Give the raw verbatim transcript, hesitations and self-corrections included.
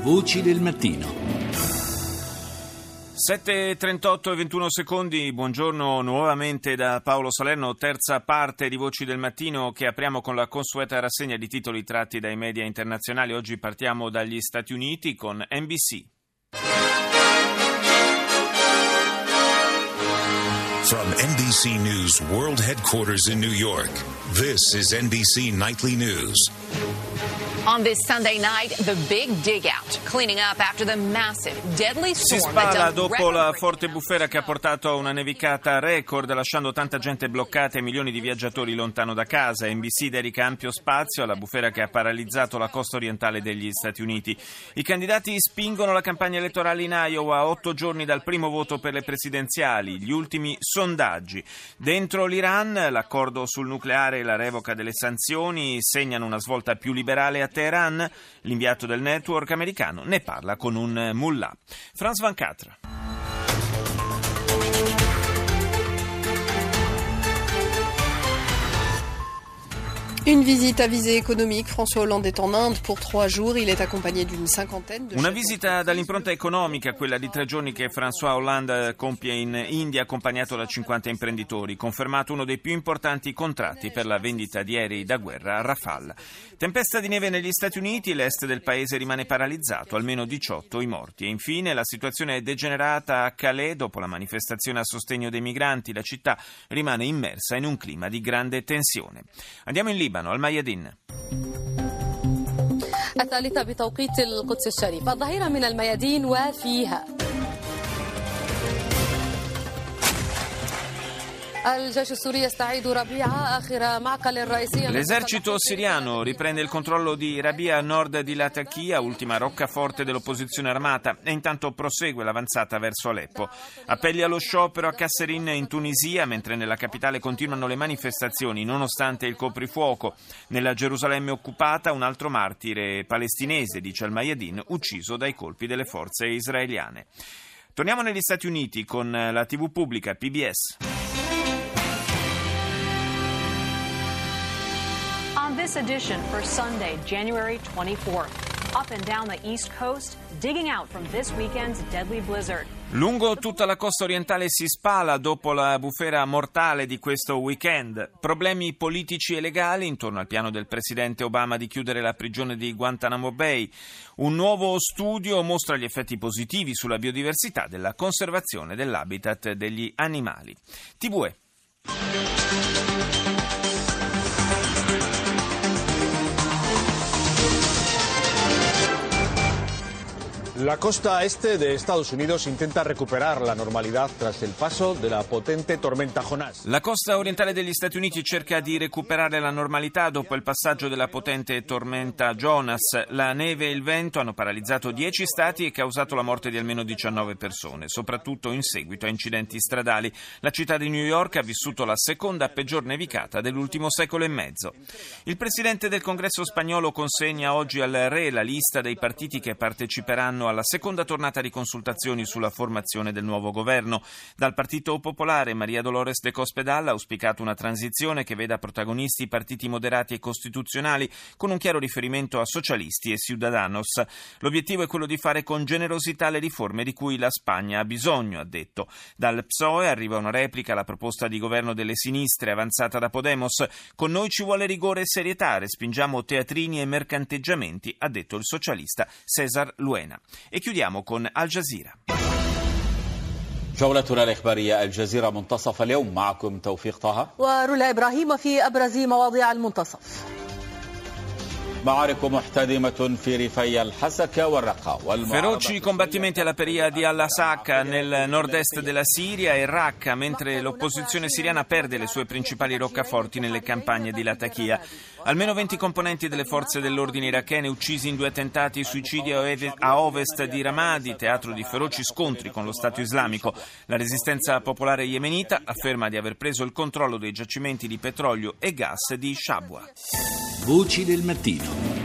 Voci del mattino. sette e trentotto e ventuno secondi, buongiorno nuovamente da Paolo Salerno, terza parte di Voci del Mattino che apriamo con la consueta rassegna di titoli tratti dai media internazionali. Oggi partiamo dagli Stati Uniti con N B C. From N B C News World Headquarters in New York, this is N B C Nightly News. On this Sunday night, the big dig out, cleaning up after the massive, deadly Si storm that spala dumped dopo la record-breaking forte bufera che ha portato a una nevicata record, lasciando tanta gente bloccata e milioni di viaggiatori lontano da casa. N B C dedica ampio spazio alla bufera che ha paralizzato la costa orientale degli Stati Uniti. I candidati spingono la campagna elettorale in Iowa a otto giorni dal primo voto per le presidenziali. Gli ultimi sondaggi. Dentro l'Iran, l'accordo sul nucleare e la revoca delle sanzioni segnano una svolta più liberale a Teheran. L'inviato del network americano ne parla con un mullah. Franz Van Catra. Une visite à visée économique. François Hollande est en Inde pour trois jours. Il est accompagné d'une cinquantaine de... Una visita dall'impronta economica, quella di tre giorni che François Hollande compie in India, accompagnato da cinquanta imprenditori. Confermato uno dei più importanti contratti per la vendita di aerei da guerra a Rafale. Tempesta di neve negli Stati Uniti, l'est del paese rimane paralizzato, almeno diciotto i morti. E infine la situazione è degenerata a Calais dopo la manifestazione a sostegno dei migranti. La città rimane immersa in un clima di grande tensione. Andiamo in Libano, al Mayadin. الثالثة بتوقيت القدس الشريف الظهيرة من الميادين وفيها L'esercito siriano riprende il controllo di Rabia a nord di Latakia, ultima roccaforte dell'opposizione armata, e intanto prosegue l'avanzata verso Aleppo. Appelli allo sciopero a Kasserine in Tunisia, mentre nella capitale continuano le manifestazioni nonostante il coprifuoco. Nella Gerusalemme occupata un altro martire palestinese, dice al Mayadin, ucciso dai colpi delle forze israeliane. Torniamo negli Stati Uniti con la tivù pubblica P B S. On this edition for Sunday, January twenty-fourth, up and down the East Coast, digging out from this weekend's deadly blizzard. Lungo tutta la costa orientale si spala dopo la bufera mortale di questo weekend. Problemi politici e legali intorno al piano del presidente Obama di chiudere la prigione di Guantanamo Bay. Un nuovo studio mostra gli effetti positivi sulla biodiversità della conservazione dell'habitat degli animali. T V E. La costa este de Estados Unidos intenta recuperar la normalidad tras el paso de la potente tormenta Jonás. La costa orientale degli Stati Uniti cerca di recuperare la normalità dopo il passaggio della potente tormenta Jonas. La neve e il vento hanno paralizzato dieci stati e causato la morte di almeno diciannove persone, soprattutto in seguito a incidenti stradali. La città di New York ha vissuto la seconda peggior nevicata dell'ultimo secolo e mezzo. Il presidente del Congresso spagnolo consegna oggi al re la lista dei partiti che parteciperanno alla seconda tornata di consultazioni sulla formazione del nuovo governo. Dal Partito Popolare María Dolores de Cospedal ha auspicato una transizione che veda protagonisti partiti moderati e costituzionali, con un chiaro riferimento a socialisti e Ciudadanos. L'obiettivo è quello di fare con generosità le riforme di cui la Spagna ha bisogno, ha detto. Dal P S O E arriva una replica alla proposta di governo delle sinistre avanzata da Podemos. Con noi ci vuole rigore e serietà, respingiamo teatrini e mercanteggiamenti, ha detto il socialista César Luena. E chiudiamo con Al Jazeera. جولتنا الإخبارية الجزيرة منتصف اليوم معكم توفيق طه ورولا إبراهيم في أبرز مواضيع المنتصف. Feroci combattimenti alla Peria di Al-Asaka nel nord-est della Siria e Raqqa, mentre l'opposizione siriana perde le sue principali roccaforti nelle campagne di Latakia. Almeno venti componenti delle forze dell'ordine irachene uccisi in due attentati suicidi a ovest di Ramadi, teatro di feroci scontri con lo Stato islamico. La resistenza popolare yemenita afferma di aver preso il controllo dei giacimenti di petrolio e gas di Shabwa. Voci del mattino.